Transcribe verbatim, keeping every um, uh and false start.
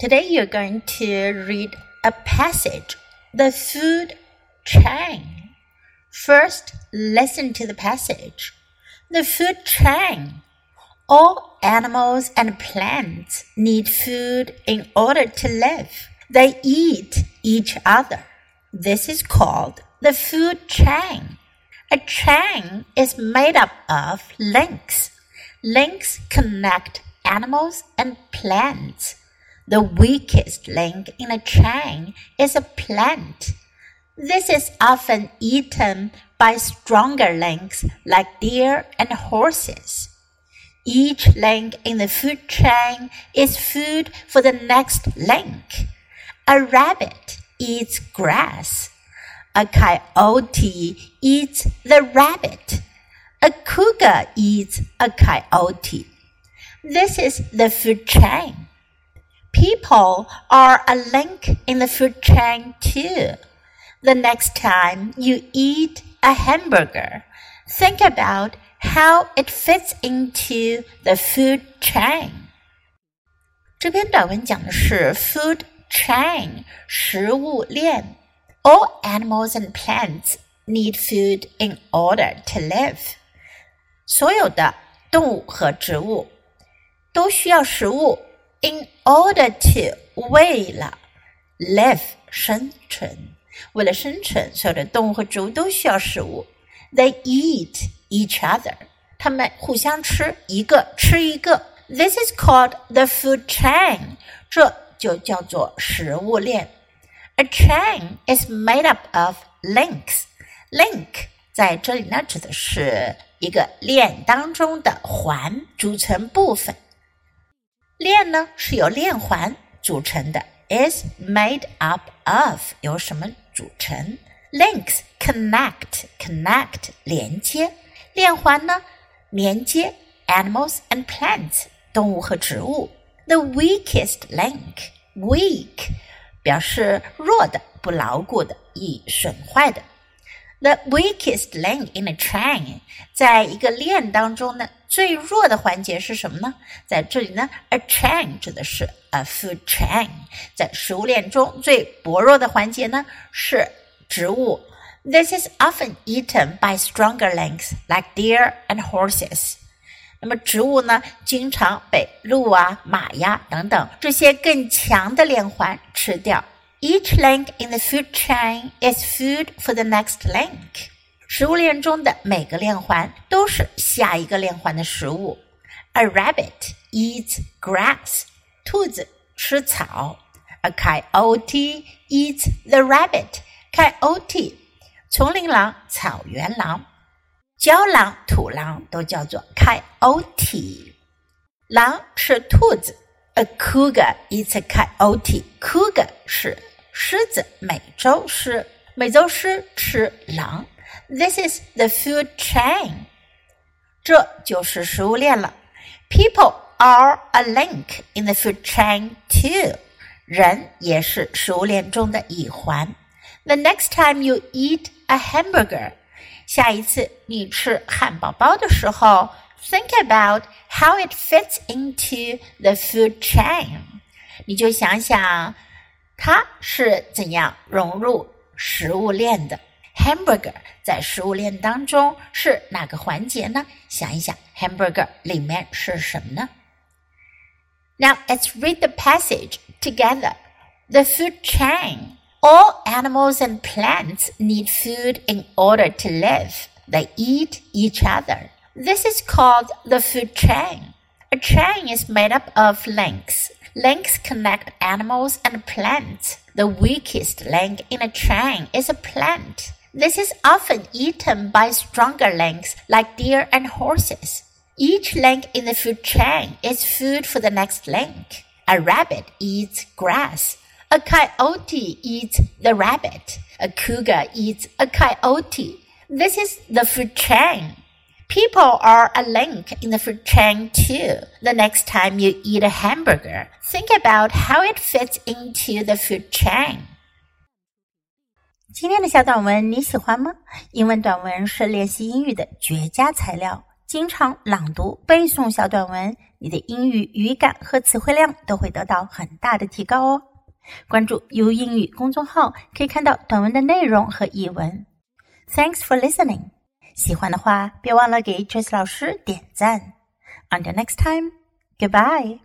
Today you're going to read a passage, the food chain. First, listen to the passage. The food chain. All animals and plants need food in order to live. They eat each other. This is called the food chain. A chain is made up of links. Links connect animals and plants. The weakest link in a chain is a plant. This is often eaten by stronger links like deer and horses. Each link in the food chain is food for the next link. A rabbit eats grass. A coyote eats the rabbit. A cougar eats a coyote. This is the food chain. People are a link in the food chain too. The next time you eat a hamburger, think about how it fits into the food chain. 这篇短文讲的是 food chain, 食物链。All animals and plants need food in order to live. 所有的动物和植物都需要食物 in order to, 为了 live, 生存。为了生存，所有的动物和植物都需要食物。They eat each other. 它们互相吃，一个吃一个。This is called the food chain. 这就叫做食物链。A chain is made up of links. Link 在这里呢，指的是一个链当中的环组成部分。链呢是由链环组成的。Is made up of 由什么组成 ？Links connect connect 连接，链环呢连接 animals and plants 动物和植物。The weakest link weak 表示弱的、不牢固的、易损坏的。The weakest link in a chain 在一个链当中呢，最弱的环节是什么呢？在这里呢 a chain 指的是 a food chain， 在食物链中最薄弱的环节呢是植物。This is often eaten by stronger links like deer and horses。 那么植物呢经常被鹿啊、马呀等等这些更强的链环吃掉。Each link in the food chain is food for the next link. 食物链中的每个链环都是下一个链环的食物。A rabbit eats grass. 兔子吃草。A coyote eats the rabbit. Coyote 丛林狼、草原狼。郊狼、土狼都叫做 coyote. 狼吃兔子。A cougar eats a coyote. Cougar 是狮子，美洲狮。美洲狮吃狼。This is the food chain. 这就是食物链了。People are a link in the food chain too. 人也是食物链中的一环。The next time you eat a hamburger, 下一次你吃汉堡包的时候Think about how it fits into the food chain. 你就想想它是怎样融入食物链的。Hamburger 在食物链当中是哪个环节呢？想一想 hamburger 里面是什么呢？ Now let's read the passage together. The food chain. All animals and plants need food in order to live. They eat each other.This is called the food chain. A chain is made up of links. Links connect animals and plants. The weakest link in a chain is a plant. This is often eaten by stronger links like deer and horses. Each link in the food chain is food for the next link. A rabbit eats grass. A coyote eats the rabbit. A cougar eats a coyote. This is the food chain.People are a link in the food chain too. The next time you eat a hamburger, think about how it fits into the food chain. 今天的小短文你喜欢吗？英文短文是练习英语的绝佳材料。 经常朗读背诵小短文，你的英语语感和词汇量都会得到很大的提高哦。关注 U 英语公众号，可以看到短文的内容和译文。Thanks for listening. 喜欢的话，别忘了给 Tracy 老师点赞。Until next time, goodbye.